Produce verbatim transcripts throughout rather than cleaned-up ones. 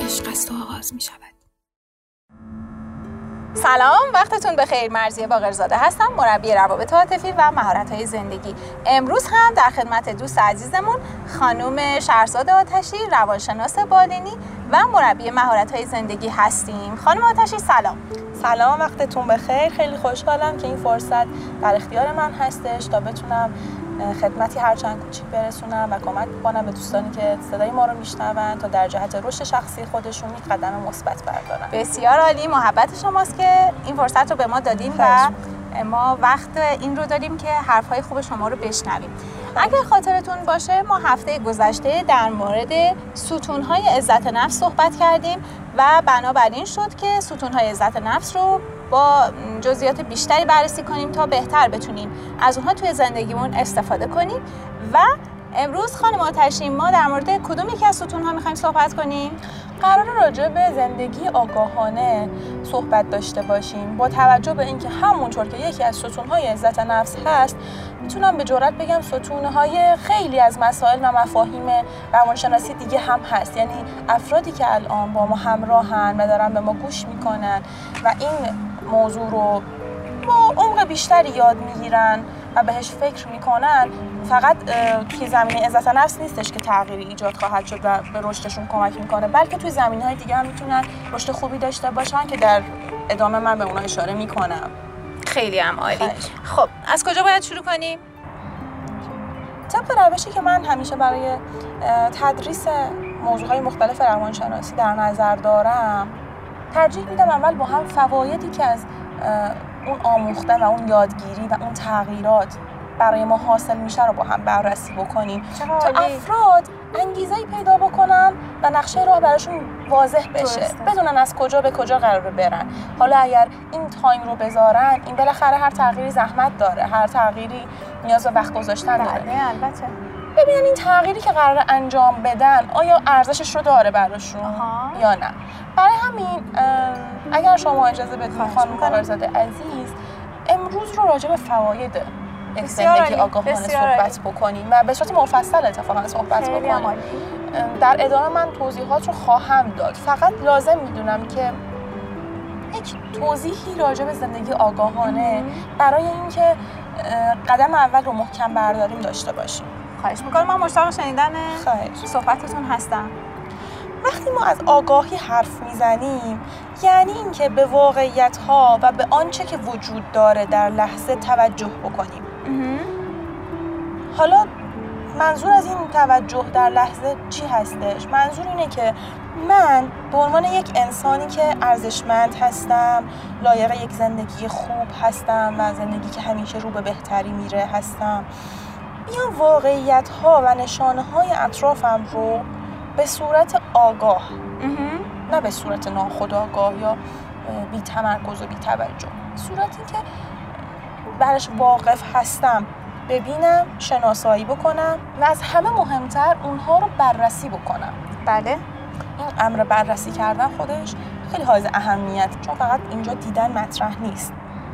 عشق است و آغاز می شود. سلام، وقتتون بخیر. مرضیه باقرزاده هستم، مربی روابط عاطفی و مهارت‌های زندگی. امروز هم در خدمت دوست عزیزمون خانم شهرزاد آتشی، روانشناس بالینی و مربی مهارت‌های زندگی هستیم. خانم آتشی سلام. سلام، وقتتون بخیر. خیلی خوشحالم که این فرصت در اختیار من هستش تا بتونم خدمتی هرچند کوچیک برسونم و کمک کنم به دوستانی که صدای ما رو میشنون تا در جهت رشد شخصی خودشون یک قدم مثبت بردارن. بسیار عالی، محبت شماست که این فرصت رو به ما دادین و ما وقت این رو داریم که حرفهای خوب شما رو بشنویم. اگر خاطرتون باشه ما هفته گذشته در مورد ستون‌های عزت نفس صحبت کردیم و بنابراین شد که ستون‌های عزت نفس رو با جزئیات بیشتری بررسی کنیم تا بهتر بتونیم از اونها توی زندگیمون استفاده کنیم. و امروز خانم آتشی ما در مورد کدوم یکی از ستون‌ها می‌خوایم صحبت کنیم؟ قرار راجع به زندگی آگاهانه صحبت داشته باشیم با توجه به اینکه همونطور که یکی از ستون‌های عزت نفس هست، میتونم به جرئت بگم ستون‌های خیلی از مسائل و مفاهیم روانشناسی دیگه هم هست. یعنی افرادی که الان با ما همراهن و دارن به ما گوش میکنن و این موضوع رو با عمق بیشتری یاد میگیرن و بهش فکر میکنن، فقط توی زمینه عزت نفس نیستش که تغییری ایجاد خواهد شد و به رشدشون کمک میکنه، بلکه توی زمینه‌های دیگه هم میتونن رشد خوبی داشته باشن که در ادامه من به اونها اشاره میکنم. خیلی هم عالی. خب از کجا باید شروع کنیم؟ طبق روشی که من همیشه برای تدریس موضوعهای مختلف روانشناسی در نظر دارم، ترجیح میدم اول با هم فوایدی که از اون آموختن و اون یادگیری و اون تغییرات برای ما حاصل میشه رو با هم بررسی بکنیم تا افراد انگیزه‌ای پیدا بکنن و نقشه راه براشون واضح بشه، بدونن از کجا به کجا قراره برن. حالا اگر این تایم رو بذارن، این بالاخره هر تغییری زحمت داره، هر تغییری نیاز به وقت گذاشتن داره. بله البته. ببینن این تغییری که قراره انجام بدن آیا ارزشش رو داره براشون یا نه. برای همین اگر شما اجازه بدید خانم باقرزاده عزیز، امروز رو راجع به فواید زندگی آگاهانه صحبت بکنیم و به صورت مفصل اتفاقا صحبت بکنیم. در ادامه من توضیحات رو خواهم داد. فقط لازم میدونم که یک توضیحی راجع به زندگی آگاهانه برای اینکه قدم اول رو محکم برداریم داشته باشیم. خواهش میکنم، من مشتاق شنیدن صحبتتون هستم. وقتی ما از آگاهی حرف میزنیم، یعنی اینکه به واقعیت‌ها و به آنچه که وجود داره در لحظه توجه بکنیم. حالا منظور از این توجه در لحظه چی هستش؟ منظور اینه که من به عنوان یک انسانی که ارزشمند هستم، لایق یک زندگی خوب هستم و زندگی که همیشه رو به بهتری میره هستم، بیام واقعیت‌ها و نشانه‌های اطرافم رو به صورت آگاه، نه به صورت ناخودآگاه یا بی تمرکز و بی توجه، صورتی که برش واقف هستم، ببینم، شناسایی بکنم و از همه مهمتر اونها رو بررسی بکنم. بله، این امر بررسی کردن خودش خیلی حائز اهمیت، چون فقط اینجا دیدن مطرح نیست.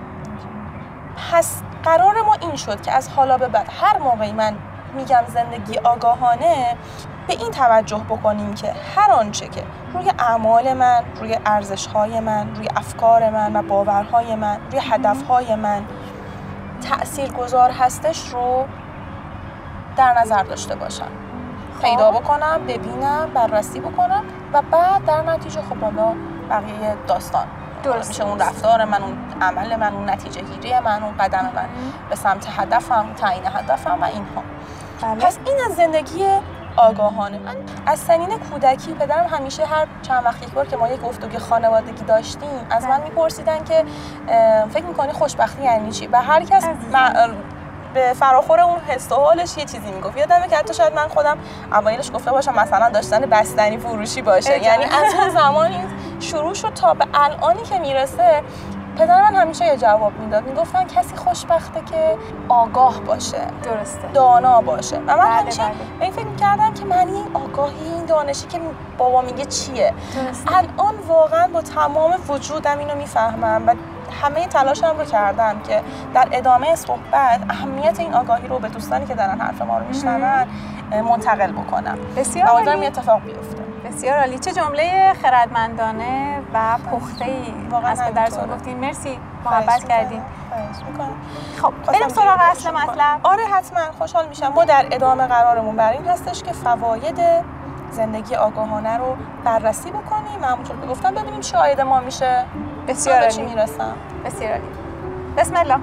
پس قرار ما این شد که از حالا به بعد هر موقعی من میگم زندگی آگاهانه، به این توجه بکنیم که هر آنچه که روی اعمال من، روی ارزش‌های من، روی افکار من و باورهای من، روی هدفهای من تأثیرگذار هستش رو در نظر داشته باشم، پیدا بکنم، ببینم، بررسی بکنم و بعد در نتیجه خب حالا بقیه داستان درست میشه، اون رفتار من، اون عمل من، اون نتیجه گیری من، اون قدم من به سمت هدفم، تعیین هدفم و اینها. بله. پس این از زندگی آگاهانه. من از سنین کودکی پدرم همیشه هر چند وقت یک بار که ما یک گفتگوی خانوادگی داشتیم از من میپرسیدن که فکر میکنی خوشبختی یعنی چی؟ و هر کس به فراخور اون حس و حالش یه چیزی میگفت. یادمه که حتی شاید من خودم اوایلش گفته باشم مثلا داشتن بستنی فروشی باشه. یعنی از اون زمان این شروع شد تا به الانی که میرسه. پدر من همیشه یه جواب میداد، میگفتن کسی خوشبخته که آگاه باشه، درسته، دانا باشه. و من بله همیشه بله. به این فکر می‌کردم که معنی این آگاهی، این دانشی که بابا میگه چیه. درسته. الان واقعا با تمام وجودم اینو میفهمم و همه تلاشم رو کردم که در ادامه صحبت اهمیت این آگاهی رو به دوستانی که دارن حرف ما رو میشنون منتقل بکنم. بسیار امیدوارم این اتفاق بیفته. بسیار عالی. چه جمله خردمندانه و پخته‌ای از پدرتون گفتین. مرسی محبت کردین. خب بریم سراغ اصل مطلب. آره حتما خوشحال میشم. ما در ادامه قرارمون بر این هستش که فواید زندگی آگاهانه رو بررسی بکنیم. همونطور که گفتم ببینیم چه عاید ما میشه. بسیار عالی. چی میرسم. بسیار عالی. بسم الله.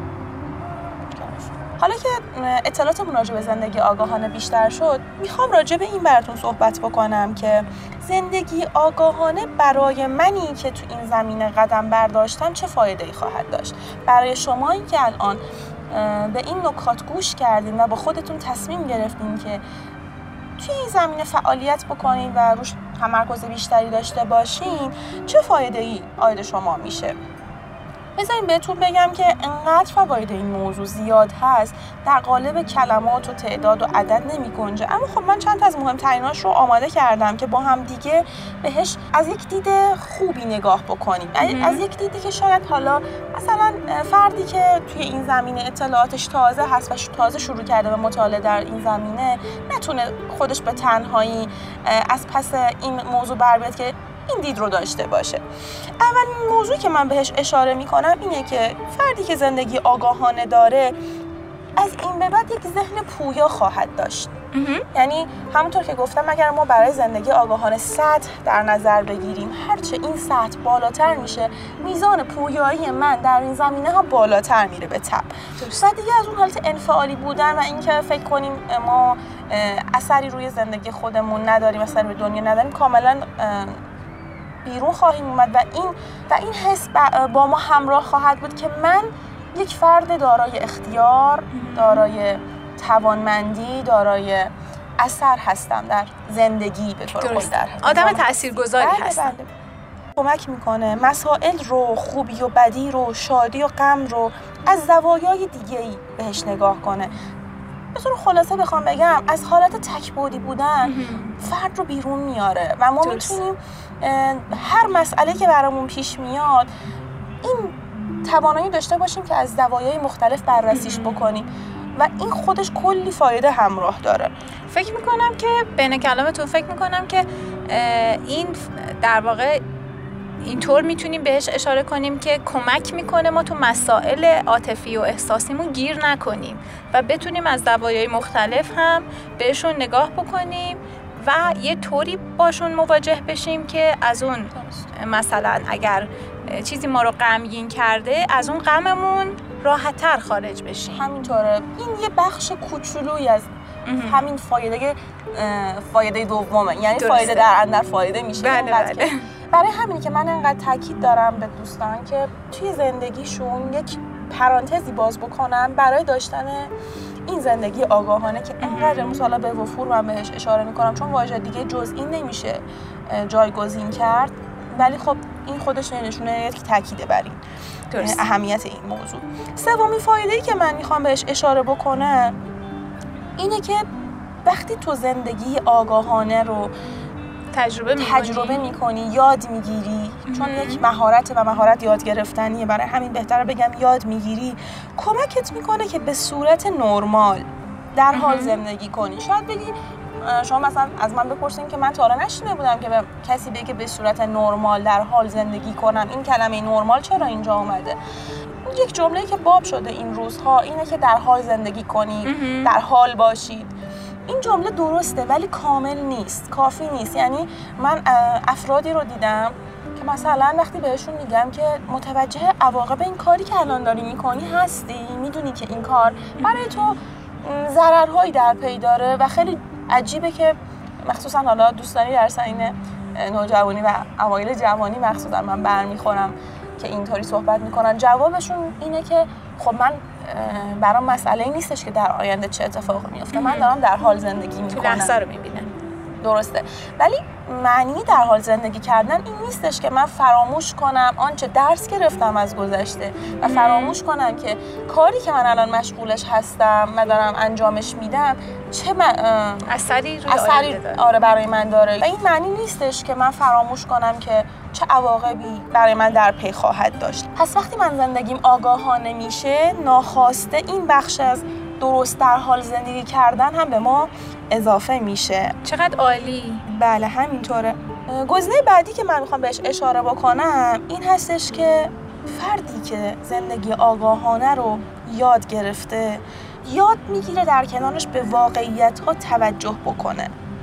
حالا که اطلاعاتمون راجع به زندگی آگاهانه بیشتر شد، میخوام راجع به این براتون صحبت بکنم که زندگی آگاهانه برای منی که تو این زمینه قدم برداشتم چه فایده‌ای خواهد داشت. برای شمایی که الان به این نکات گوش کردین و با خودتون تصمیم گرفتین که توی این زمینه فعالیت بکنین و روش تمرکز بیشتری داشته باشین، چه فایده‌ای عاید شما میشه. بذارین بهتون بگم که انقدر فواید این موضوع زیاد هست، در قالب کلمات و تعداد و عدد نمی گنجه. اما خب من چند تا از مهمتریناش رو آماده کردم که با هم دیگه بهش از یک دید خوبی نگاه بکنیم. از یک دیدی که شاید حالا مثلا فردی که توی این زمینه اطلاعاتش تازه هست و تازه شروع کرده به مطالعه در این زمینه، نتونه خودش به تنهایی از پس این موضوع بر بیاد که این دید رو داشته باشه. اولین موضوعی که من بهش اشاره میکنم اینه که فردی که زندگی آگاهانه داره از این به بعد یک ذهن پویا خواهد داشت. یعنی همونطور که گفتم اگر ما برای زندگی آگاهانه سطح در نظر بگیریم، هرچه این سطح بالاتر میشه میزان پویایی من در این زمینه ها بالاتر میره به تبع. و دیگه از اون حالت انفعالی بودن و اینکه فکر کنیم ما اثری روی زندگی خودمون نداریم، اثری روی دنیا نداریم، کاملا بیرون خواهیم اومد و این و این حس با ما همراه خواهد بود که من یک فرد دارای اختیار، دارای توانمندی، دارای اثر هستم در زندگی به طور کلی، در آدم تاثیرگذاری هستم. بله. کمک میکنه مسائل رو، خوبی و بدی رو، شادی و غم رو از زوایای دیگه‌ای بهش نگاه کنه. به طور خلاصه بخوام بگم از حالت تک‌بعدی بودن فرد رو بیرون میاره و ما میتونیم هر مسئله که برامون پیش میاد این توانایی داشته باشیم که از زوایای مختلف بررسیش بکنیم و این خودش کلی فایده همراه داره. فکر میکنم که بین کلامتون فکر میکنم که این در واقع اینطور میتونیم بهش اشاره کنیم که کمک میکنه ما تو مسائل عاطفی و احساسیمون گیر نکنیم و بتونیم از زوایای مختلف هم بهشون نگاه بکنیم و یه طوری باشون مواجه بشیم که از اون مثلا اگر چیزی ما رو غمگین کرده از اون غممون راحت‌تر خارج بشیم. همینطوره. این یه بخش کوچولویی از همین فایده فایده دومه، یعنی درسته. فایده در اندر فایده میشه. بله بله. برای همینی که من انقدر تاکید دارم به دوستان که توی زندگیشون یک پرانتزی باز بکنن برای داشتن این زندگی آگاهانه که انقدر مثلا به وفور من بهش اشاره میکنم، چون واژه دیگه جز این نمیشه جایگزین کرد، ولی خب این خودش نشونه که تاکیده بر این اهمیت این موضوع. سومین فایده‌ای که من میخوام بهش اشاره بکنم اینه که وقتی تو زندگی آگاهانه رو تجربه می‌کنی، تجربه می‌کنی، یاد می‌گیری، چون یک مهارت و مهارت یاد گرفتنیه، برای همین بهتره بگم یاد می‌گیری، کمکت می‌کنه که به صورت نرمال در حال زندگی کنی. شاید بگی شما مثلا از من بپرسین که من تا حالا نشنیده بودم که به کسی بگه به صورت نرمال در حال زندگی کنم. این کلمه نرمال چرا اینجا اومده؟ یک جمله‌ای که باب شده این روزها اینه که در حال زندگی کنید، در حال باشید. این جمله درسته ولی کامل نیست، کافی نیست. یعنی من افرادی رو دیدم که مثلا وقتی بهشون میگم که متوجه عواقب این کاری که الان داری میکنی هستی، میدونی که این کار برای تو ضررهایی در پی داره و خیلی عجیبه که مخصوصا حالا دوستانی در سنین نوجوانی و اوایل جوانی مخصوصا من برمیخورم که اینطوری صحبت میکنن، جوابشون اینه که خب من برام مسئله این نیستش که در آینده چه اتفاقی میفته، من دارم در حال زندگی میکنم، تو لحظه رو میبینم. درسته، ولی معنی در حال زندگی کردن این نیستش که من فراموش کنم آنچه درس گرفتم از گذشته و فراموش کنم که کاری که من الان مشغولش هستم و دارم انجامش میدم چه م... اثری روی اثری آره برای من داره. و این معنی نیستش که من فراموش کنم که چه عواقبی برای من در پی خواهد داشت. پس وقتی من زندگیم آگاهانه میشه، ناخواسته این بخش از درست در حال زندگی کردن هم به ما اضافه میشه. چقدر عالی. بله همینطوره. گزینه بعدی که من میخوام بهش اشاره بکنم این هستش که فردی که زندگی آگاهانه رو یاد گرفته یاد میگیره در کنارش به واقعیت ها توجه بکنه،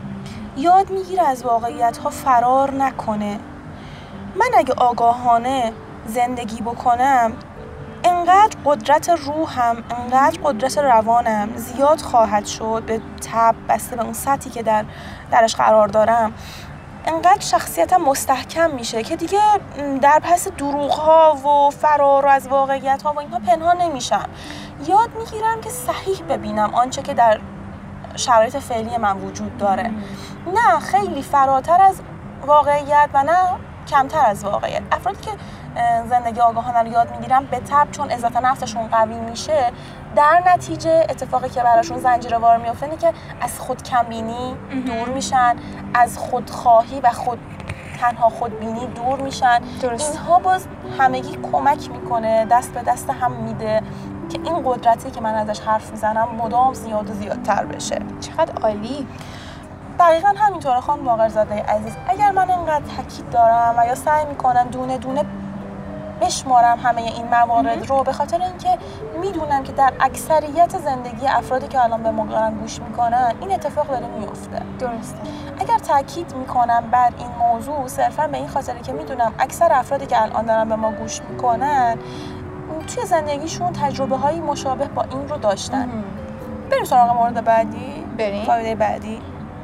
یاد میگیره از واقعیت ها فرار نکنه. من اگه آگاهانه زندگی بکنم انقدر قدرت روحم، انقدر قدرت روانم زیاد خواهد شد به تب بسته به اون سطحی که در درش قرار دارم، انقدر شخصیتم مستحکم میشه که دیگه در پس دروغ‌ها و فرار از واقعیت‌ها و اینها پنهان نمیشم. یاد میگیرم که صحیح ببینم آنچه که در شرایط فعلی من وجود داره، نه خیلی فراتر از واقعیت و نه کمتر از واقعیت. افرادی که زندگی آگاهانه رو یاد میگیرن به تبع چون عزت نفسشون قوی میشه، در نتیجه اتفاقی که براشون زنجیروار میفته اینه که از خود کمبینی دور میشن، از خودخواهی و خود تنها خودبینی دور میشن. درست. اینها باز همگی کمک میکنه، دست به دست هم میده که این قدرتی که من ازش حرف میزنم مدام زیاد و زیادتر بشه. چقدر عالی. دقیقاً همینطوره خانم باقرزاده عزیز. اگر من اینقدر تاکید دارم و یا سعی میکنم دونه دونه بشمارم همه این موارد رو، به خاطر اینکه میدونم که در اکثریت زندگی افرادی که الان به ما دارن گوش میکنن این اتفاق داره میفته. درسته. اگر تاکید میکنم بر این موضوع صرفا به این خاطره که میدونم اکثر افرادی که الان دارن به ما گوش میکنن توی زندگیشون تجربه های مشابه با این رو داشتن. بریم سراغ مورد بعدی. بریم. فایده بعدی.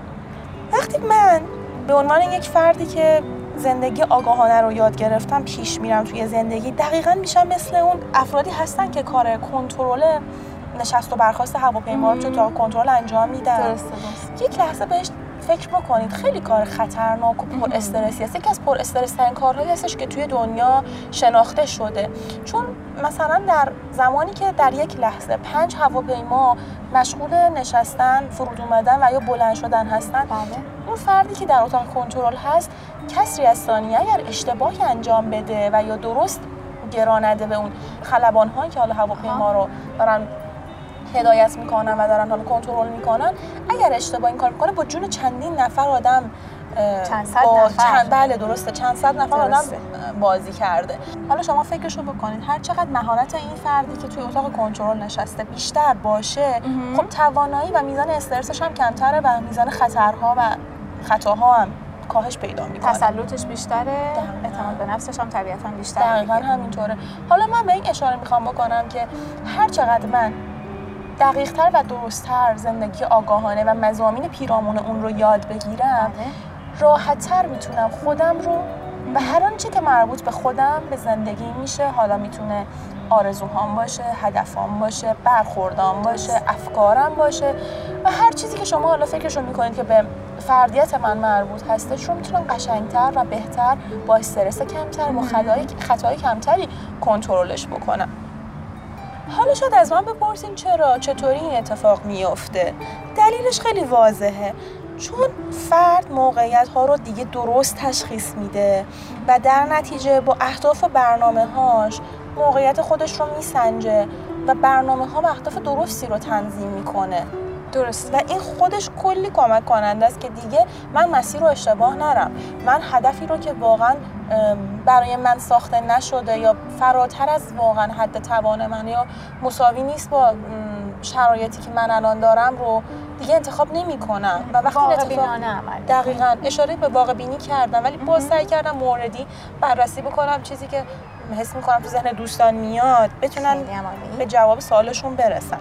وقتی من به عنوان یک فردی که زندگی آگاهانه رو یاد گرفتم پیش میرم توی زندگی، دقیقاً میشم مثل اون افرادی هستن که کار کنترل نشست و برخاست هواپیما رو تو اتاق کنترل انجام میدن. درسته درسته. یک لحظه بهش فکر بکنید، خیلی کار خطرناک و پر استرسی است. یکی از پر استرس ترین کارهایی هستش که توی دنیا شناخته شده، چون مثلا در زمانی که در یک لحظه پنج هواپیما مشغول نشستن، فرود اومدن و یا بلند شدن هستن، بله. اون فردی که در اتاق کنترل هست کسری از ثانیه اگر اشتباهی انجام بده و یا درست گرا نده به اون خلبان‌هایی که حالا هواپیما رو دارن هدایت میکنن و دارن حالا کنترل میکنن، اگر اشتباه این کار میکنه با جون چندین نفر آدم چند صد نفر چند بله درسته چند صد نفر درسته. آدم بازی کرده. حالا شما فکرشو بکنید، هر چقدر مهارت این فردی که توی اتاق کنترل نشسته بیشتر باشه، خب توانایی و میزان استرسش هم کمتره و میزان خطرها و خطاها هم کاهش پیدا میکنه. تسلطش بیشتره، اعتماد به نفسش هم طبیعتاً بیشتره. دقیقاً همینطوره. حالا من به این اشاره میخوام بکنم که هر چقدر من دقیق‌تر و درست‌تر زندگی آگاهانه و مضامین پیرامون اون رو یاد بگیرم، راحت‌تر میتونم خودم رو و هر آنچه که مربوط به خودم به زندگی میشه، حالا میتونه آرزوهام باشه، هدفام باشه، برخوردام باشه، افکارم باشه و هر چیزی که شما حالا فکرشو میکنید که به فردیت من مربوط هستش رو میتونم قشنگتر و بهتر با استرس کمتر و خطای خطای کمتری کنترلش بکنم. حالا شاید از من بپرسین چرا چطوری این اتفاق میفته؟ دلیلش خیلی واضحه، چون فرد موقعیت ها رو دیگه درست تشخیص میده و در نتیجه با اهداف و برنامه هاش موقعیت خودش رو میسنجه و برنامه ها و اهداف درستی رو تنظیم میکنه. درست. و این خودش کلی کمک کننده است که دیگه من مسیر رو اشتباه نرم، من هدفی رو که واقعا برای من ساخته نشده یا فراتر از واقعا حد توان من یا مساوی نیست با شرایطی که من الان دارم رو دیگه انتخاب نمی کنم و وقتی واقع بینانه عمل. دقیقاً اشاره به واقع بینی کردم، ولی باز سعی کردم موردی بررسی بکنم، چیزی که حس می کنم تو ذهن دوستان میاد بتونن به جواب سوالشون برسن.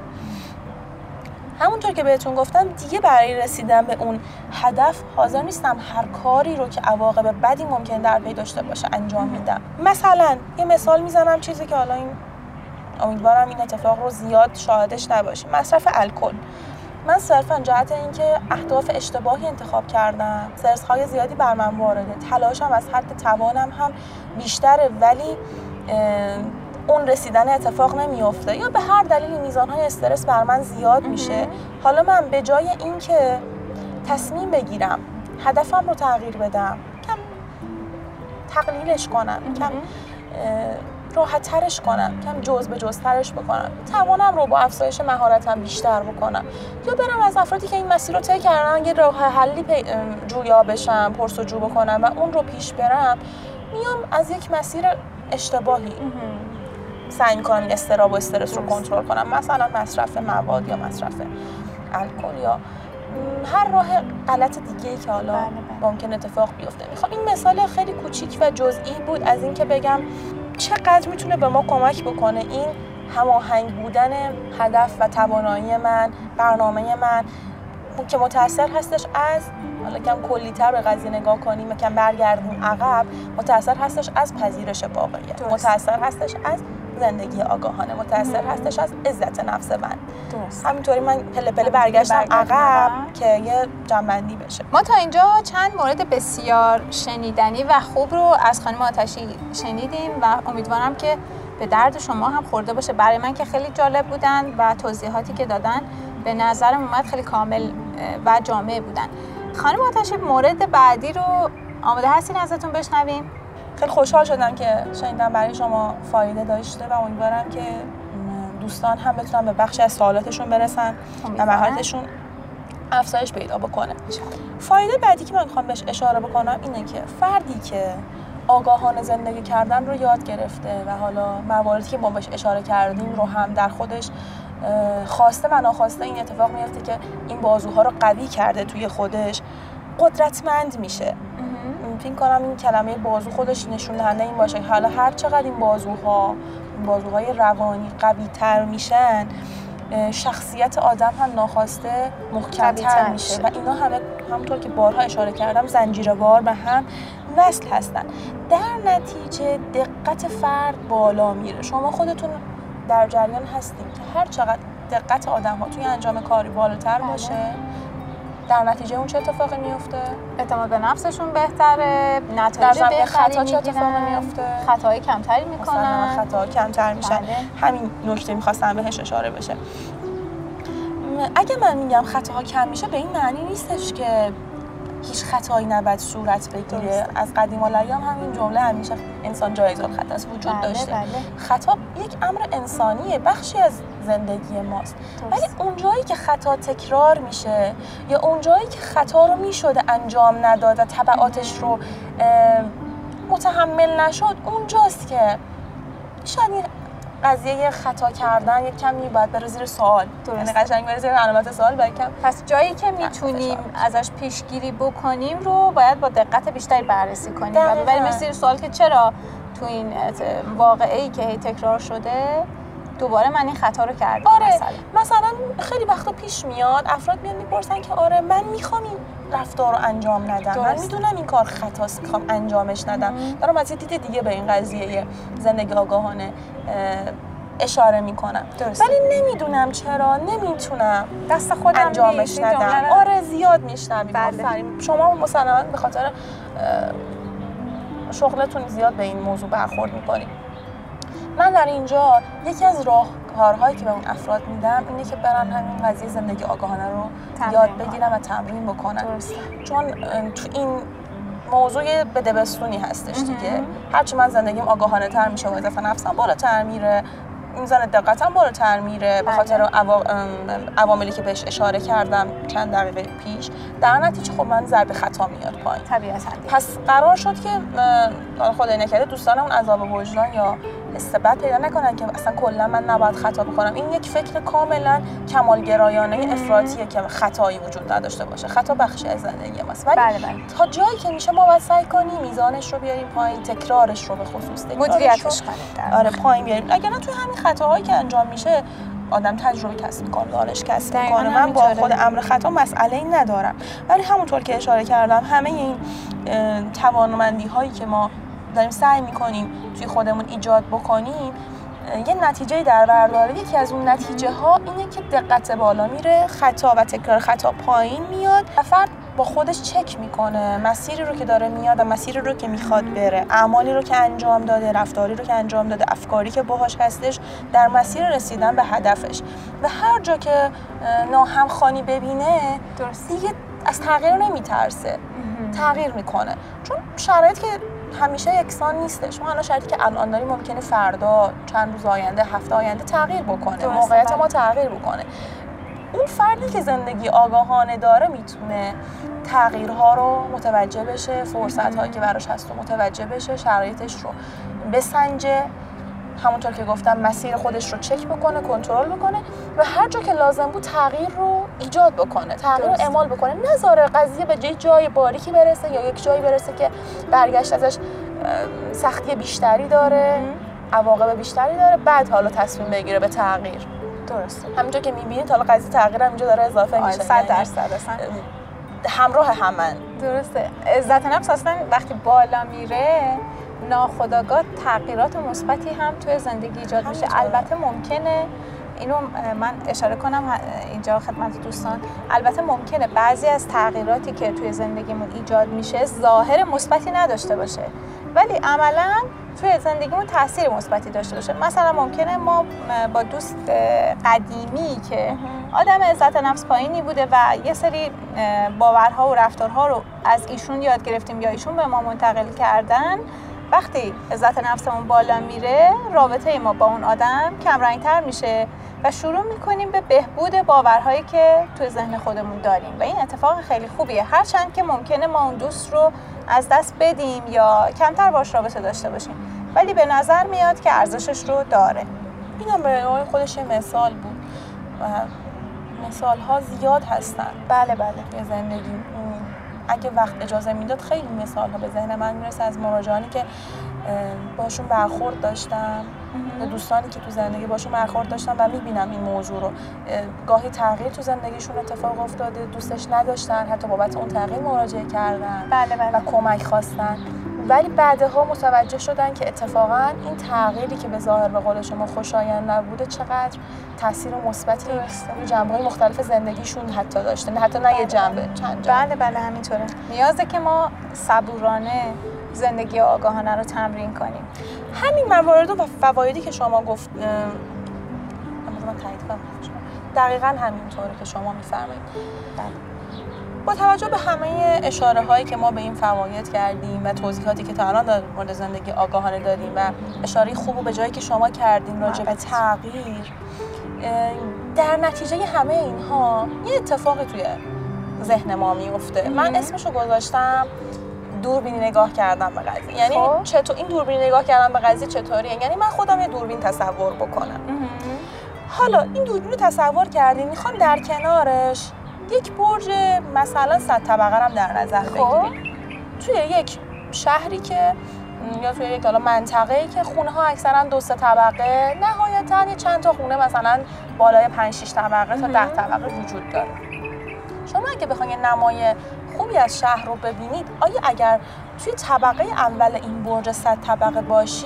همونطور که بهتون گفتم دیگه برای رسیدن به اون هدف حاضر نیستم هر کاری رو که عواقب بدی ممکن در پی داشته باشه انجام میدم. مثلا یه مثال میزنم، چیزی که حالا این امیدوارم این اتفاق رو زیاد شاهدش نباشیم، مصرف الکل. من صرفا جهت اینکه اهداف اشتباهی انتخاب کردم، استرس‌های زیادی بر من وارده، تلاشم از حد توانم هم بیشتره ولی اون رسیدن اتفاق نمیفته یا به هر دلیلی میزانهای استرس بر من زیاد میشه. حالا من به جای اینکه تصمیم بگیرم هدفم رو تغییر بدم، کم تقلیلش کنم، کم راحت ترش کنم، کم جز به جز ترش بکنم، توانم رو با افزایش مهارتم بیشتر بکنم، یا برم از افرادی که این مسیر رو طی کردن یه راه حلی جویا بشم، پرس‌وجو بکنم و اون رو پیش برم. میام از یک مسیر اشتباهی سعی می‌کنم این اضطراب و استرس رو کنترل کنم، مثلا مصرف مواد یا مصرف الکل یا هر راه غلط دیگه‌ای که حالا بله بله. ممکن اتفاق بیفته. میخوام این مثال خیلی کوچیک و جزئی بود از این که بگم چقدر میتونه به ما کمک بکنه این هماهنگ بودن هدف و توانایی من، برنامه من که متأثر هستش از، حالا کم کلی‌تر به قضیه نگاه کنیم و کم برگردیم عقب، متأثر هستش از پذیرش واقعیت، متأثر هستش از زندگی آگاهانه، متأثر هستش از عزت نفس من. درست. همینطوری من پله پله برگشتم عقب که یه جنبندی بشه. ما تا اینجا چند مورد بسیار شنیدنی و خوب رو از خانم آتشی شنیدیم و امیدوارم که به درد شما هم خورده باشه. برای من که خیلی جالب بودن و توضیحاتی که دادن به نظرم اومد خیلی کامل و جامع بودن. خانم آتشی مورد بعدی رو آماده هستین ازتون بشنویم؟ خیلی خوشحال شدم که شنیدم برای شما فایده داشته و امیدوارم که دوستان هم بتونن به بخشی از سوالاتشون برسن و مهارتشون افزایش پیدا بکنه. فایده بعدی که من میخوام بهش اشاره بکنم اینه که فردی که آگاهانه زندگی کردن رو یاد گرفته و حالا مواردی که ما بهش اشاره کردیم رو هم در خودش خواسته و ناخواسته این اتفاق میفته که این بازوها رو قوی کرده توی خودش، قدرتمند میشه. فکر کنم این کلمه بازو خودش نشون دهنده این باشه که حالا هر چقدر این بازوها این بازوهای روانی قوی تر میشن، شخصیت آدم هم ناخواسته محکم‌تر میشه و اینا همه همونطور که بارها اشاره کردم زنجیروار به هم وصل هستن. در نتیجه دقت فرد بالا میره. شما خودتون در جریان هستیم که هر چقدر دقت آدم ها توی انجام کاری بالاتر باشه، در نتیجه اون چه اتفاقی میفته؟ اعتماد به نفسشون بهتره، نتایج بهتری خطا چه اتفاقی میفته؟ خطاهای کمتری میکنن، خطاها کمتر میشن. بله. همین نکته میخواستم بهش اشاره بشه. اگه من میگم خطاها کم میشه به این معنی نیستش که هیچ خطایی نباید صورت بگیره. درست. از قدیم الایام همین جمله همیشه انسان جایز الخطا وجود بله داشته. بله. خطا یک امر انسانیه، بخشی از زندگی ماست. ولی اونجایی که خطا تکرار میشه یا اونجایی که خطا رو میشده انجام نداد و تبعاتش رو متحمل نشد، اونجاست که شاید این قضیه خطا کردن یک کمی باید بره زیر سوال. یعنی قشنگ بره زیر علامت سوال. باید کم پس جایی که میتونیم ازش پیشگیری بکنیم رو باید با دقت بیشتری بررسی کنیم و ببریمش زیر سوال که چرا تو این واقعه‌ای که هی تکرار شده دوباره من این خطا رو کردم. آره مثلا. مثلا خیلی وقتا پیش میاد افراد میان میپرسن که آره من میخوام این رفتار رو انجام ندم، من میدونم این کار خطاست میخوام انجامش ندم. دارم از یه دید دیگه به این قضیه زندگی آگاهانه اشاره میکنم، ولی نمیدونم چرا نمیتونم دست خودم انجامش ندم. آره زیاد میشنویم. بله. شما مسلماً به خاطر شغلتون زیاد به این موضوع برخورد میکنید. من در اینجا یکی از راهکارهایی که به اون افراد میدم اینه که برن همین قضیه زندگی آگاهانه رو یاد بگیرن و تمرین بکنن. درسته. چون تو این موضوع بدبستونی هستش دیگه. هرچی من زندگیم آگاهانه تر میشه و عزت نفسم بالاتر میره، میزان دقتم بالاتر میره به خاطر عواملی که بهش اشاره کردم چند دقیقه پیش. در نتیجه خب من ضرب خطا میاد پایین طبیعتاً. پس قرار شد که خدای نکرده دوستانمون عذاب وجدان یا استبد پیدا نکنن که اصلا کلا من نباید خطا بکنم. این یک فکر کاملا کمالگرایانه افراطیه که خطایی وجود نداشته باشه. خطا بخشی از زندگی ماست، ولی بله بله. تا جایی که میشه ما باید سعی کنیم میزانش رو بیاریم پایین، تکرارش رو به خصوص مدیریتش کنیم. آره پایین بیاریم. اگر نه توی همین خطاهایی که انجام میشه آدم تجربه کسب میکنه، دانش کسب میکنه. من با خود امر خطا مسئله‌ای ندارم، ولی همونطور که اشاره کردم همه این توانمندی هایی که ما داریم سعی میکنیم توی خودمون ایجاد بکنیم یه نتیجه در بر داره. یکی از اون نتیجه ها اینه که دقت بالا میره، خطا و تکرار خطا پایین میاد و فرد با خودش چک میکنه مسیری رو که داره میاد و مسیری رو که میخواد بره، اعمالی رو که انجام داده، رفتاری رو که انجام داده، افکاری که باهاش هستش در مسیر رسیدن به هدفش. و هر جا که ناهمخوانی ببینه دیگه از تغییر نمیترسه. تغییر میکنه، چون شرایط که همیشه یکسان نیسته. شما الان شرایطی که الان داریم ممکنه فردا، چند روز آینده، هفته آینده تغییر بکنه، موقعیت ما تغییر بکنه. اون فردی که زندگی آگاهانه داره میتونه تغییرها رو متوجه بشه، فرصت‌هایی که براش هست رو متوجه بشه، شرایطش رو بسنجه، همونطور که گفتم مسیر خودش رو چک بکنه، کنترل بکنه و هر جا که لازم بود تغییر رو ایجاد بکنه، تغییر رو اعمال بکنه، نذاره قضیه به جای جای باریکی برسه یا یک جایی برسه که برگشت ازش سختی بیشتری داره، عواقب بیشتری داره، بعد حالا تصمیم بگیره به تغییر. درسته. همونجا که می‌بینید حالا قضیه تغییر هم اینجا داره اضافه میشه. صد درصد اصلا همراه همن. درسته. عزت نفس اصلا وقتی بالا میره ناخودآگاه تغییرات مثبتی هم توی زندگی ایجاد میشه. البته ممکنه اینو من اشاره کنم اینجا خدمت دوستان، البته ممکنه بعضی از تغییراتی که توی زندگیمون ایجاد میشه ظاهر مثبتی نداشته باشه ولی عملاً توی زندگیمون تاثیر مثبتی داشته باشه. مثلا ممکنه ما با دوست قدیمی که آدم عزت نفس پایینی بوده و یه سری باورها و رفتارها رو از ایشون یاد گرفتیم یا ایشون به ما منتقل کردن، وقتی عزت نفسمون بالا میره رابطه ما با اون آدم کمرنگ‌تر میشه و شروع میکنیم به بهبود باورهایی که توی ذهن خودمون داریم و این اتفاق خیلی خوبیه، هرچند که ممکنه ما اون دوست رو از دست بدیم یا کمتر باش رابطه داشته باشیم ولی به نظر میاد که ارزشش رو داره. اینم به نوعی خودش یه مثال بود و مثال ها زیاد هستن. بله بله. یه زندگی اگه وقت اجازه میداد خیلی مثال ها به ذهن من میرسه از مراجعانی که باشون برخورد داشتم، دوستانی که تو زندگی باشون برخورد داشتم و میبینم این موضوع رو. گاهی تغییر تو زندگیشون اتفاق افتاده، دوستش نداشتن، حتی بابت اون تغییر مراجعه کردن بله بله. و کمک خواستن، ولی بعدها متوجه شدن که اتفاقا این تغییری که به ظاهر به قول شما خوشایند نبوده چقدر تاثیر مثبتی روی جنبه‌های مختلف زندگیشون حتی داشته، حتی نه یه جنبه، چند جنبه. بله بله همینطوره. نیازه که ما صبورانه زندگی آگاهانه رو تمرین کنیم. همین موارد و فوایدی که شما گفت من تایید کنم دقیقاً همینطوره که شما میفرمایید. با توجه به همه اشاره هایی که ما به این فواید کردیم و توضیحاتی که تا الان در مورد زندگی آگاهانه دادیم و اشاره خوب و به جایی که شما کردیم راجع به تغییر، در نتیجه همه اینها یه اتفاقی توی ذهن ما میفته. من اسمشو گذاشتم دوربینی نگاه کردن به قضیه. یعنی خب. چطور این دوربینی نگاه کردن به قضیه چطوریه؟ یعنی من خودم یه دوربین تصور بکنم. حالا این دوربین رو تصور کردیم، میخوام در کنارش یک برج مثلا صد طبقه هم در نظر بگیریم. توی یک شهری که یا توی یک حالا منطقه‌ای که خونه‌ها اکثرا دو سه طبقه، نهایتاً یه چند تا خونه مثلا بالای پنج شش طبقه تا ده طبقه وجود داره. شما اگه بخواید نمای خوبی از شهر رو ببینید، آیا اگر توی طبقه اول این برج صد طبقه باشی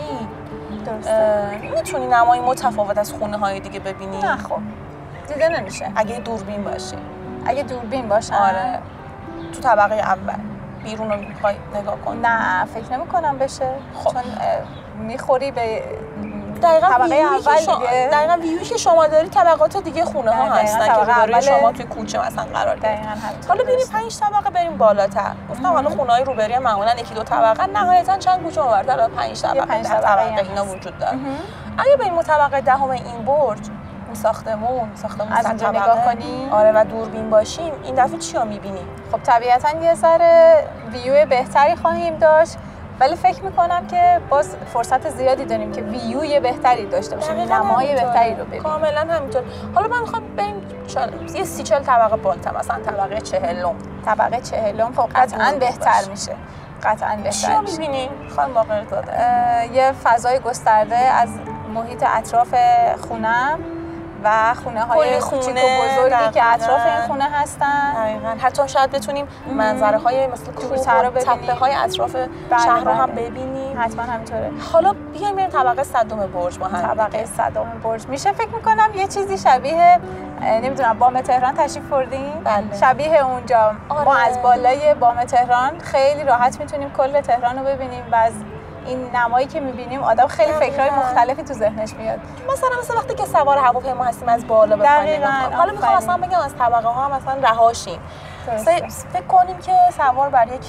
میتونی نمای متفاوت از خونه‌های دیگه ببینی؟ نه خب دیده نمیشه. اگه دوربین باشه. اگه دوربین باشه آره. تو طبقه اول بیرون رو میخوای نگاه کن؟ نه فکر نمی کنم بشه. خب. چون میخوری به دقیقاً طبقه اول شما... دیگه. دقیقاً ویویی که شما داری طبقات دیگه خونه ها هستن که روبروی شما توی کوچه مثلا قرار داره. حالا بریم پنج طبقه بریم بالاتر. گفتم حالا خونه‌های روبروی معمولاً یکی دو طبقه، نهایتاً چند کوچه اونورتر پنج طبقه پنج ده طبقه اینا وجود داره. اگه بریم طبقه دهم این برج ساختمون ساختمون از اونجا نگاه کنیم آره و دوربین باشیم، این دفعه چی رو می‌بینیم؟ خب طبیعتاً یه ذره ویو بهتری خواهیم داشت، ولی فکر میکنم که باز فرصت زیادی داریم که ویوی بهتری داشته باشیم، نمای بهتری رو ببینیم. کاملا همینطور. حالا من میخوام بریم یه سی چهل طبقه بالاتر، مثلا طبقه چهلم. طبقه چهلم خب قطعاً بهتر میشه. قطعاً بهتر چی رو می‌بینیم؟ خانم باقرزاده یه فضای گسترده از محیط اطراف خونم و خونه های کوچیک و بزرگی که اطراف این خونه هستن. دقیقاً. حتی شاید بتونیم منظره های مثل کوه رو تپه های اطراف بله شهر رو هم ببینیم. حتما همینطوره. حالا بیایم بریم طبقه صدم برج با هم. طبقه صدم برج میشه فکر میکنم یه چیزی شبیه نمیدونم بام تهران تشریف بردین؟ بله. شبیه اونجا. آره. ما از بالای بام تهران خیلی راحت میتونیم کل تهران رو ببینیم و از این نمایی که می‌بینیم آدم خیلی فکرهای مختلفی تو ذهنش میاد. مثلا مثلا وقتی که سوار هواپیما هستیم از بالا به پایین نگاه کنیم. حالا می‌خوام اصلا بگم از طبقه ها مثلا رهاشیم. فکر کنیم که سوار بر یک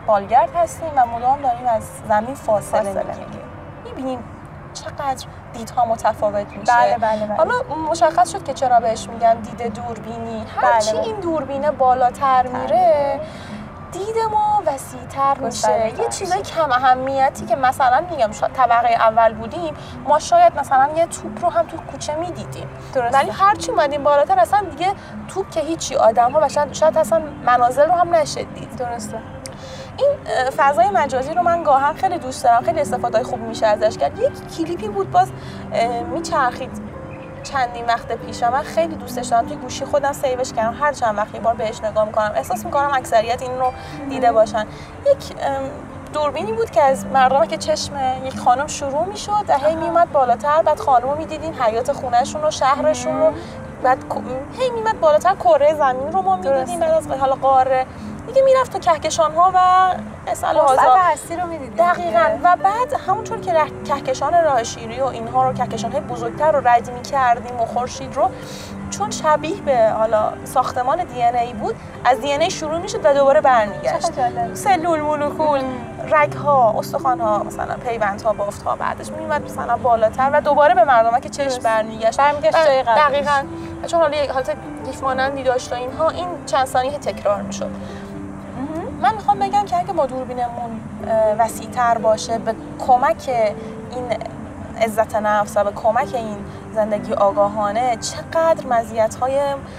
بالگرد هستیم و مدام داریم از زمین فاصله میگیریم. میبینیم چقدر دیدها متفاوت میشه. بله بله بله. حالا مشخص شد که چرا بهش میگن دید دوربینی. هرچی بله بله. این دوربینه بالاتر میره دید ما وسیع‌تر میشه. یه چیزای کم اهمیتی که مثلا میگم طبقه اول بودیم ما شاید مثلا یه توپ رو هم تو کوچه میدیدیم، ولی هرچی اومدیم بالاتر اصلا دیگه توپ که هیچی، آدم‌ها و شاید شاید اصلا منازل رو هم نشدید. درسته. این فضای مجازی رو من گاهن خیلی دوست دارم، خیلی استفاده خوب میشه ازش کرد. یک کلیپی بود باز میچرخید چندین وقت پیش، من خیلی دوستش دارم، توی گوشی خودم سیوش کردم، هر چند وقت یه بار بهش نگاه میکنم. احساس میکنم اکثریت این رو دیده باشن. یک دوربینی بود که از مردم که چشم یک خانم شروع میشد و هی میومد بالاتر، بعد خانم رو میدیدین حیات خونهشون رو، شهرشون رو، بعد هی میومد بالاتر کره زمین رو ما میدیدیم، بعد از حالا قاره دیگه میرفت تو کهکشان ها و اصلا وسط هستی رو میدیدیم. دقیقاً. و بعد همونطور که کهکشان راه شیری و اینها رو، کهکشان های بزرگتر رو رد می‌کردیم و خورشید رو، چون شبیه به حالا ساختمان دی ان ای بود، از دی ان ای شروع میشد و دوباره برمیگشت. سلول، مولکول، رگ‌ها، استخوان‌ها، مثلا پیوندها، بافت‌ها، بعدش میومد مثلا بالاتر و دوباره به مردمه که چشم برمیگشت. برمیگشت جای قبلش. دقیقاً. چون حالا یک حالت گیف مانندی داشت و اینها، این چند ثانیه تکرار میشد. من میخوام بگم که اگه ما دوربینمون وسیع‌تر باشه، به کمک این عزت نفس و به کمک این زندگی آگاهانه، چقدر مزیت‌های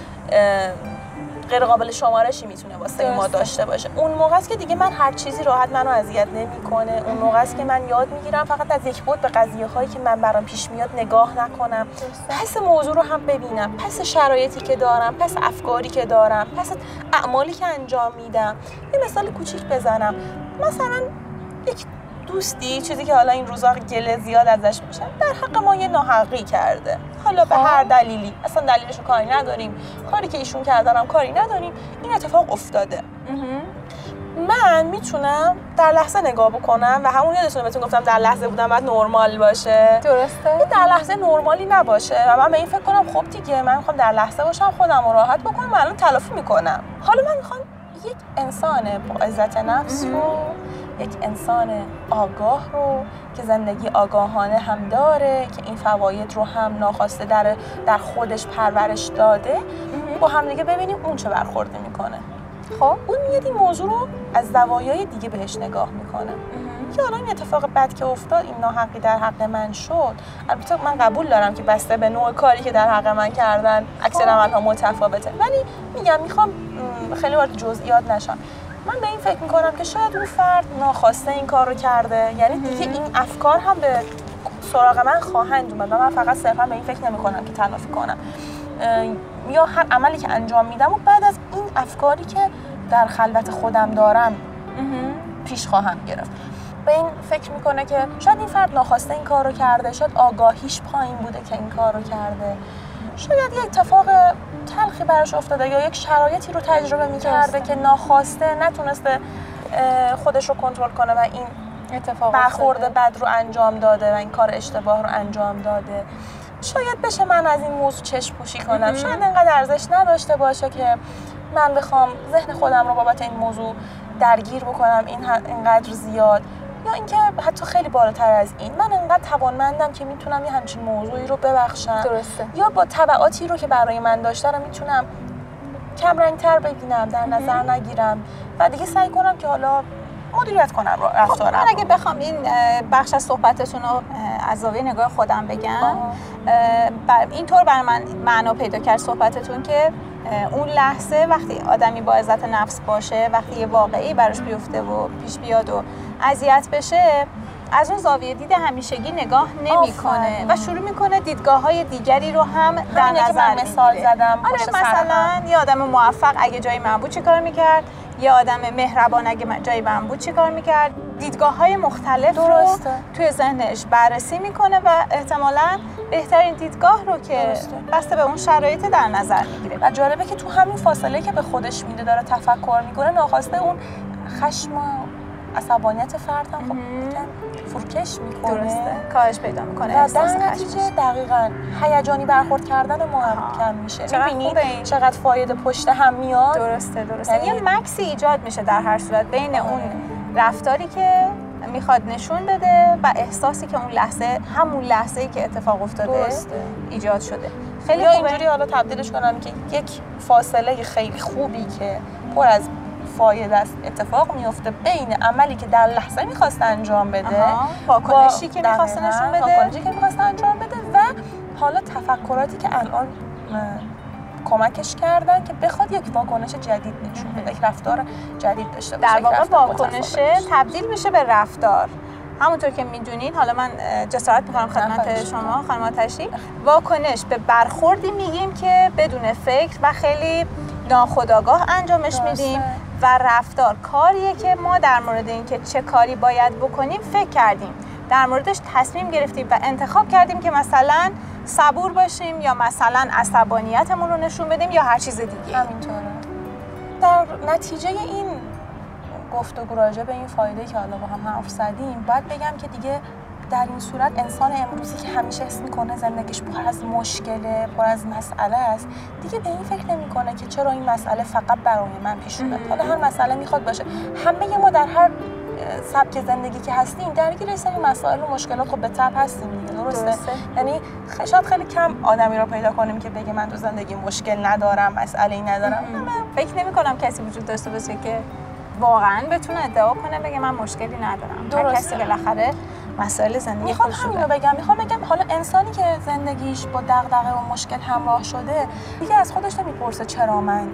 غیر قابل شمارشی میتونه واسه ما داشته باشه. اون موقع است که دیگه من هر چیزی راحت منو اذیت نمیکنه. اون موقع است که من یاد میگیرم فقط از یک بود به قضیه هایی که من برام پیش میاد نگاه نکنم، پس موضوع رو هم ببینم، پس شرایطی که دارم، پس افکاری که دارم، پس اعمالی که انجام میدم. یه مثال کوچیک بزنم، مثلا یک دوستی، چیزی که حالا این روزا گله زیاد ازش میشه، در حق ما یه ناحقی کرده، حالا به هر دلیلی، اصلا دلیلش رو کاری نداریم، کاری که ایشون کردن هم کاری نداریم، این اتفاق افتاده. من میتونم در لحظه نگاه بکنم و همون یادتونه بهتون گفتم در لحظه بودم باید نرمال باشه. درسته. در لحظه نرمالی نباشه و من به این فکر کنم خب دیگه من میخوام در لحظه باشم، خودم رو راحت بکنم و الان تلافی میکنم. حالا من میخوام یک انسان با عزت نفس رو، یک انسان آگاه رو که زندگی آگاهانه هم داره، که این فواید رو هم ناخواسته در در خودش پرورش داده، با هم دیگه ببینیم اون چه برخورده میکنه. خب اون میاد این موضوع رو از زوایای دیگه بهش نگاه میکنه که حالا این اتفاق بد که افتاد، این ناحقی در حق من شد. البته من قبول دارم که بسته به نوع کاری که در حق من کردن اکثر عمل‌ها متفاوته، ولی میگم میخوام خیلی وارد جزئیات نشم. من به این فکر میکنم که شاید اون فرد ناخواسته این کار رو کرده، یعنی دیگه این افکار هم به سراغ من خواهند اومد و من فقط صرفا به این فکر نمیکنم که تلافی کنم یا هر عملی که انجام میدم و بعد از این افکاری که در خلوت خودم دارم پیش خواهم گرفت. به این فکر میکنه که شاید این فرد ناخواسته این کار رو کرده، شاید آگاهیش پایین بوده که این کار رو کرده، شاید یک اتفاق تلخی براش افتاده یا یک شرایطی رو تجربه میکرده که ناخواسته نتونسته خودش رو کنترل کنه و این اتفاق برخورد بد رو انجام داده و این کار اشتباه رو انجام داده. شاید بشه من از این موضوع چشم پوشی کنم، شاید اینقدر ارزش نداشته باشه که من بخوام ذهن خودم رو بابت این موضوع درگیر بکنم این اینقدر زیاد، یا اینکه حتی خیلی بالاتر از این من اینقدر توانمندم که میتونم یه همچین موضوعی رو ببخشم. درسته. یا با تبعاتی رو که برای من داشته رو میتونم کم رنگ‌تر ببینم، در نظر نگیرم و دیگه سعی کنم که حالا مدیریت کنم رفتارم. من اگه بخوام این بخش از صحبتتون رو از زاویه نگاه خودم بگم، بر اینطور برای من معنا پیدا کرد صحبتتون که اون لحظه وقتی آدمی با عزت نفس باشه، وقتی یه واقعی براش بیفته و پیش بیاد و اذیت بشه، از اون زاویه دید همیشگی نگاه نمیکنه و شروع میکنه دیدگاه‌های دیگری رو هم در نظر میگیره. مثال زدم. آره مثلا یه آدم موفق اگه جای من بود چیکار میکرد، یه آدم مهربان اگه جای من بود چیکار میکرد. دیدگاه‌های مختلف درسته. رو توی ذهنش بررسی میکنه و احتمالاً بهترین دیدگاه رو که بسته به اون شرایط در نظر میگیره. و جالبه که تو همین فاصله که به خودش میده داره تفکر میکنه، ناخواسته اون خشم و عصبانیت فرد هم خب فروکش میکنه. درسته. کاهش پیدا میکنه. و در نتیجه دقیقاً هیجانی برخورد کردن ما هم کم میشه. میبینید چقدر فایده پشت هم میاد. درسته درسته. یه مکسی ایجاد میشه در هر صورت بین اون رفتاری که میخواد نشون بده و احساسی که اون لحظه همون لحظه‌ای که اتفاق افتاده درسته. ایجاد شده. خیلی یا خوبه. اینجوری حالا تبدیلش کنم که یک فاصله خیلی خوبی که پر از فایده است اتفاق میفته بین عملی که در لحظه میخواست انجام بده، واکنشی که میخواست نشون بده، واکنشی که میخواست انجام بده و حالا تفکراتی که الان کمکش کردن که بخواد یک واکنش جدید نشون بده، یک رفتار جدید داشته باشه. در واقع واکنش تبدیل بشه به رفتار. همونطور که میدونین، حالا من جسارت میکنم خدمت شما خانم آتشی، واکنش به برخوردی میگیم که بدون فکر و خیلی ناخودآگاه انجامش میدیم و رفتار کاریه که ما در مورد اینکه چه کاری باید بکنیم فکر کردیم، در موردش تصمیم گرفتیم و انتخاب کردیم که مثلا صبور باشیم یا مثلا عصبانیتمون رو نشون بدیم یا هر چیز دیگه. همینطوره. در نتیجه این گفتگو راجع به این فایده که حالا با هم حرف زدیم، باید بگم که دیگه در این صورت انسان امروزی که همیشه حس میکنه زندگیش پر از مشکله، پر از مسئله است، دیگه به این فکر نمیکنه که چرا این مسئله فقط برای من پیش اومد. حالا هر مسئله میخواد باشه، همه ما در هر سبک زندگی که هستیم درگیر این سری مسائل و مشکلات خب به تبع هستیم دیگه. درسته؟ درسته. یعنی شاید خیلی کم آدمی رو پیدا کنیم که بگه من تو زندگی مشکل ندارم، مسئله‌ای ندارم. فکر نمی‌کنم کسی وجود داشته باشه که واقعاً بتونه ادعا کنه بگه من مشکلی ندارم. درسته. هر کسی بالاخره مسائل زندگی میخوام همینو بگم. میخوام بگم حالا انسانی که زندگیش با دغدغه و مشکل همراه شده دیگه از خودش نمیپرسه چرا من.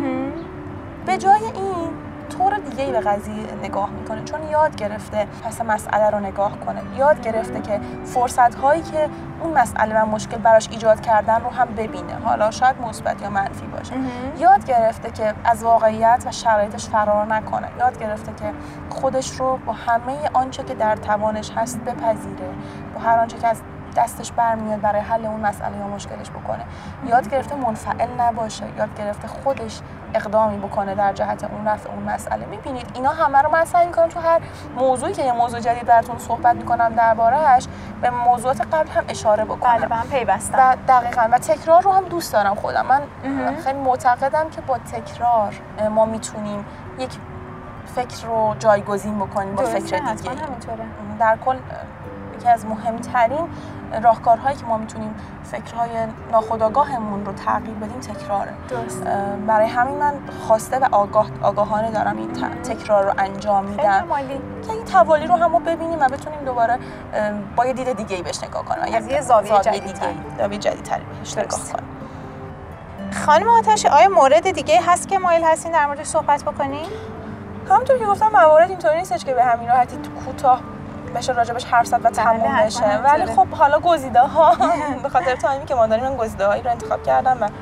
به جای این طور دیگه‌ای به قضیه نگاه میکنه، چون یاد گرفته پس مسئله رو نگاه کنه، یاد گرفته که فرصت‌هایی که اون مسئله و مشکل براش ایجاد کردن رو هم ببینه، حالا شاید مثبت یا منفی باشه. یاد گرفته که از واقعیت و شرایطش فرار نکنه، یاد گرفته که خودش رو با همه آنچه که در توانش هست بپذیره، با هر آنچه که از دستش برمیاد برای حل اون مسئله یا مشکلش بکنه. یاد گرفته منفعل نباشه، یاد گرفته خودش اقدامی بکنه در جهت اون رفع اون مسئله. میبینید اینا همه رو من سعی می‌کنم تو هر موضوعی که یه موضوع جدید براتون صحبت می‌کنم درباره‌اش به موضوعات قبل هم اشاره بکنم. بله، من پیوستم. و دقیقاً و تکرار رو هم دوست دارم خودم. من خیلی معتقدم که با تکرار ما میتونیم یک فکر رو جایگزین بکنیم با فکر دیگه. در کل یکی از مهمترین راهکارهایی که ما میتونیم فکرهای ناخودآگاهمون رو تغییر بدیم تکراره. درست. برای همین من خواسته و آگاه آگاهانه دارم این تکرار رو انجام میدم که این توالی رو هم ببینیم و بتونیم دوباره با یه دید دیگه‌ای بهش نگاه کنیم، از یه زاویه جدیدتر زاویه جدیدتری بهش نگاه کنیم. خانم آتشی، آیا مورد دیگه هست که مایل هستین در موردش صحبت بکنین؟ همونطور که گفتم موارد اینطوری نیستش که به همین راحتی کوتاه بشه راجبش حرف زد و تموم بشه، ولی خب حالا گزیده ها به خاطر تایمی که ما داریم من گزیده هایی رو انتخاب کردم و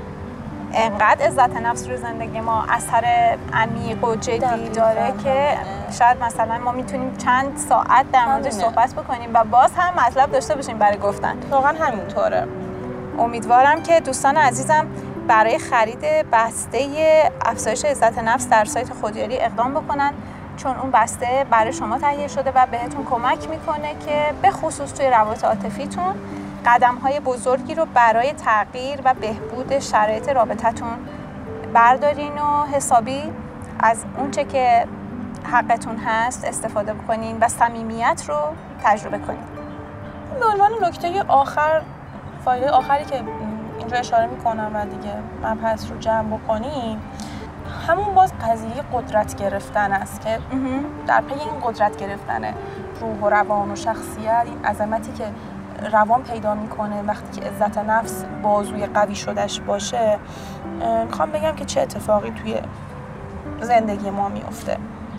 انقدر عزت نفس رو زندگی ما اثر عمیق و جدی داره که شاید مثلا ما میتونیم چند ساعت در موردش صحبت بکنیم و باز هم مطلب داشته باشیم برای گفتن. واقعا همینطوره. امیدوارم که دوستان عزیزم برای خرید بسته افزایش عزت نفس در سایت خودیاری اقدام بکنن، چون اون بسته برای شما تهیه شده و بهتون کمک میکنه که به خصوص توی روابط عاطفیتون قدم‌های بزرگی رو برای تغییر و بهبود شرایط رابطتون بردارین و حسابی از اونچه که حقتون هست استفاده بکنین و صمیمیت رو تجربه کنین. به عنوان نکته آخر، فایده آخری که اینجا اشاره میکنم و دیگه مبحث رو جمع بکنیم، همون باز قضیه قدرت گرفتن است که در پی این قدرت گرفتن روح و روان و شخصیت، این عظمتی که روان پیدا میکنه وقتی که عزت نفس بازوی قوی شدش باشه، میخوام بگم که چه اتفاقی توی زندگی ما میفته.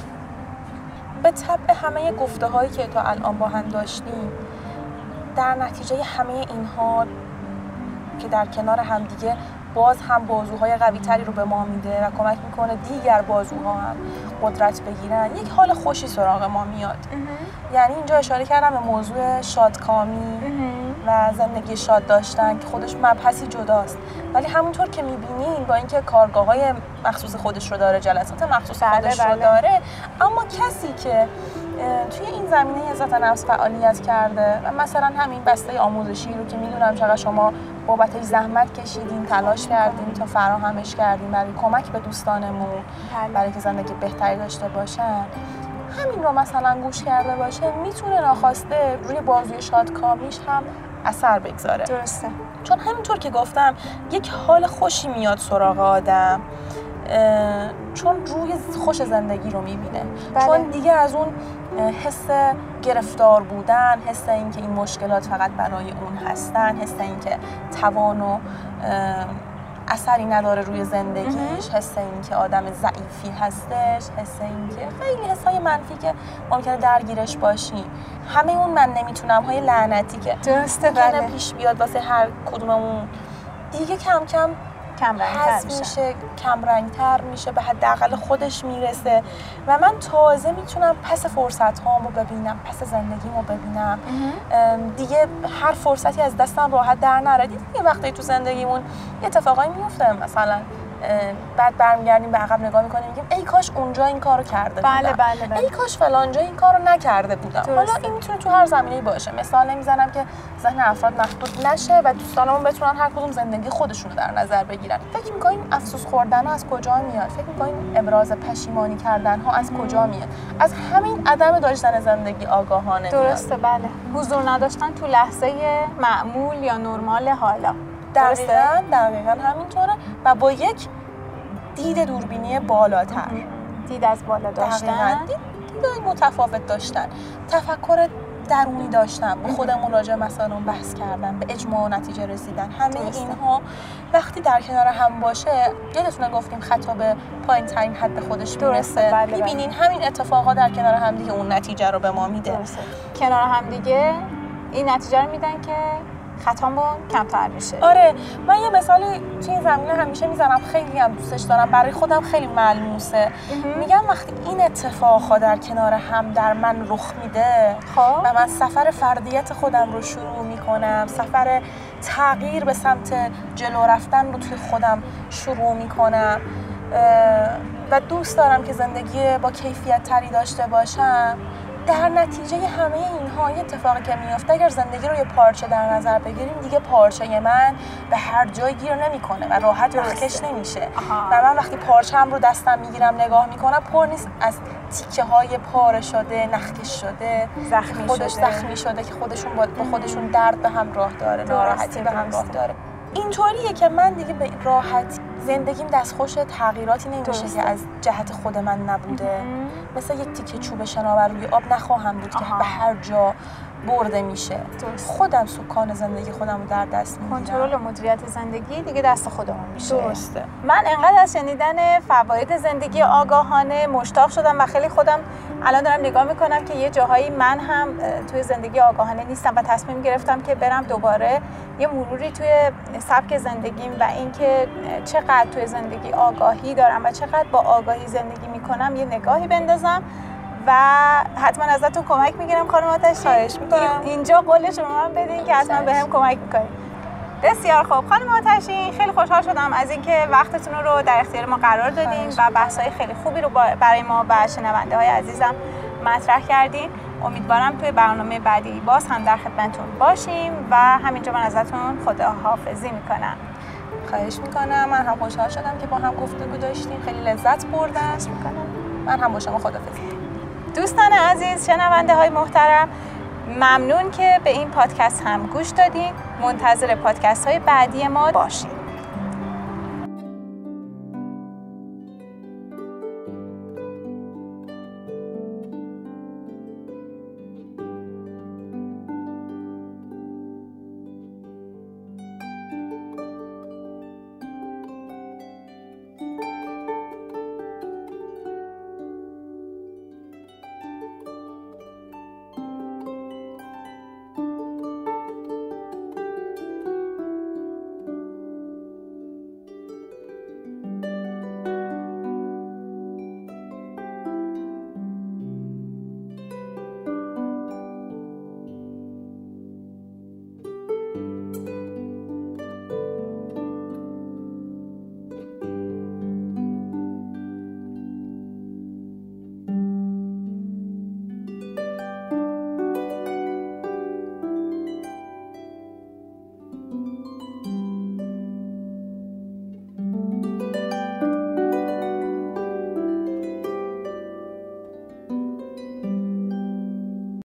به طبع همه گفته هایی که تا الان با هم داشتیم، در نتیجه همه اینها که در کنار هم دیگه باز هم بازوهای قوی تری رو به ما میده و کمک میکنه دیگر بازوها هم قدرت بگیرن، یک حال خوشی سراغ ما میاد. یعنی اینجا اشاره کردم به موضوع شادکامی و زندگی شاد داشتن که خودش مبحثی جداست، ولی همونطور که میبینین با اینکه کارگاه‌های مخصوص خودش رو داره، جلسات مخصوص بله خودش بله. رو داره، اما کسی که توی این زمینه عزت نفس فعالیت کرده و مثلا همین بسته آموزشی رو که میدونم چقدر شما بابتش زحمت کشیدین، تلاش کردین تا فراهمش کردین برای کمک به دوستانمون، برای که زندگی بهتری داشته باشن، همین رو مثلا گوش کرده باشه میتونه ناخواسته روی بازوی شادکامیش هم اثر بگذاره. درسته. چون همینطور که گفتم یک حال خوشی میاد سراغ آدم چون روی خوش زندگی رو میبینه. بله. چون دیگه از اون حس گرفتار بودن، حس این که این مشکلات فقط برای اون هستن، حس این که توان و اثری نداره روی زندگیش، حس این که آدم ضعیفی هستش، حس این که خیلی حسای منفی که ممکنه درگیرش باشی، همه اون من نمیتونم های لعنتی که درسته بله پیش بیاد واسه هر کدوممون دیگه کم کم کم رنگ‌تر میشه. میشه کم رنگ‌تر میشه، به حداقل خودش میرسه و من تازه میتونم پس فرصت‌هامو ببینم، پس زندگیمو ببینم. دیگه هر فرصتی از دستم راحت در نره. دیگه وقتی تو زندگیمون یه اتفاقایی میفته، مثلا بعد برمیگردیم به عقب نگاه میکنیم میگیم ای کاش اونجا این کارو کرده بودم، بله بله بله. ای کاش فلان جا این کارو نکرده بودم. درسته. حالا این میتونه تو هر زمینه‌ای باشه. مثال نمیزنم که ذهن افراد محدود نشه و دوستانمون بتونن هر کدوم زندگی خودشون رو در نظر بگیرن. فکر می‌کنیم افسوس خوردن ها از کجا میاد؟ فکر می‌کنیم ابراز پشیمانی کردن ها از کجا میاد؟ از همین عدم داشتن زندگی آگاهانه. درسته میاد. بله. حضور نداشتن تو لحظه معمول یا نورمال حالا. دقیقاً دقیقاً همینطوره و با یک دید دوربینی بالاتر، دید از بالا داشتن، دید دیدای متفاوت داشتن، تفکر درونی داشتن، با خودمون راجع به مسائل بحث کردن، به اجماع و نتیجه رسیدن. همه درسته. اینها وقتی در کنار هم باشه، یادتونه گفتیم خطا به پایین ترین حد خودش میرسه. بله میبینین بله. همین اتفاقا در کنار هم دیگه اون نتیجه رو به ما میده. درسته. کنار هم دیگه این نتیجه رو میدن که خطامون کمتر میشه. آره، من یه مثالی توی این زمینه همیشه میزنم، خیلی هم دوستش دارم، برای خودم خیلی ملموسه. میگم وقتی این اتفاقها در کنار هم در من رخ میده خواه؟ و من سفر فردیت خودم رو شروع میکنم، سفر تغییر به سمت جلو رفتن رو توی خودم شروع میکنم و دوست دارم که زندگی با کیفیت تری داشته باشم، در نتیجه همه اینها یه اتفاقی که میفته، اگر زندگی رو یه پارچه در نظر بگیریم، دیگه پارچه من به هر جای گیر نمیکنه و راحت نخکش نمیشه. و من وقتی پارچه‌ام رو دستم میگیرم نگاه میکنم، پر نیست از تیکه های پاره شده، نخکش شده، زخمی خودش شده. زخمی شده که خودشون با خودشون درد به همراه داره، ناراحتی به همراه داره. اینطوریه که من دیگه به راحتی زندگیم دستخوش تغییراتی نمیشه که از جهت خود من نبوده. مثل یک تیکه چوب شناور روی آب نخواهم بود آها. که به هر جا برده میشه. درست. خودم سکان زندگی خودم رو در دست میگیرم. کنترل و مدیریت زندگی دیگه دست خودمون میشه. درسته. من انقدر از شنیدن فواید زندگی آگاهانه مشتاق شدم و خیلی خودم الان دارم نگاه میکنم که یه جاهایی من هم توی زندگی آگاهانه نیستم و تصمیم گرفتم که برم دوباره یه مروری توی سبک زندگیم و اینکه چقدر توی زندگی آگاهی دارم و چقدر با آگاهی زندگی میکنم یه نگاهی بندازم و حتما ازتون کمک میگیرم خانم آتشی. خواهش میکنم. اینجا قول شما من بدین که حتما بهم کمک میکنید. بسیار خوب خانم آتشی، خیلی خوشحال شدم از اینکه وقتتون رو در اختیار ما قرار دادین و بحث‌های خیلی خوبی رو برای ما و شنونده‌های عزیزم مطرح کردین. امیدوارم توی برنامه بعدی باز هم در خدمتتون باشیم و همینجا من ازتون خداحافظی میکنم. خواهش میکنم. من هم خوشحال شدم که با هم گفتگو داشتیم، خیلی لذت بردم. من هم با شما خداحافظی. دوستان عزیز، شنونده های محترم، ممنون که به این پادکست هم گوش دادین. منتظر پادکست های بعدی ما باشین.